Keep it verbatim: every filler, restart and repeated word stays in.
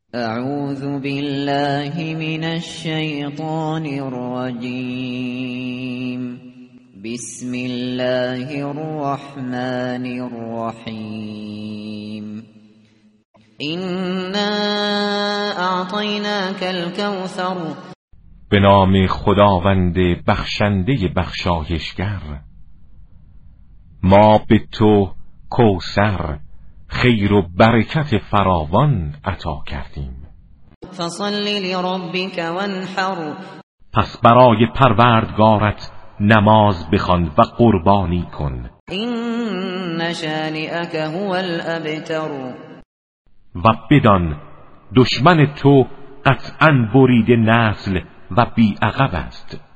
اعوذ بالله من الشیطان الرجیم. بسم الله الرحمن الرحیم. إنا اعطیناک الکوثر. به نام خداوند بخشنده بخشایشگر. ما به تو کوثر، خیر و برکت فراوان عطا کردیم. فصل لربک وانحر. پس برای پروردگارت نماز بخوان و قربانی کن. این شانئک هو الابتر. و بدان دشمن تو قطعاً برید نسل و بی عقب است.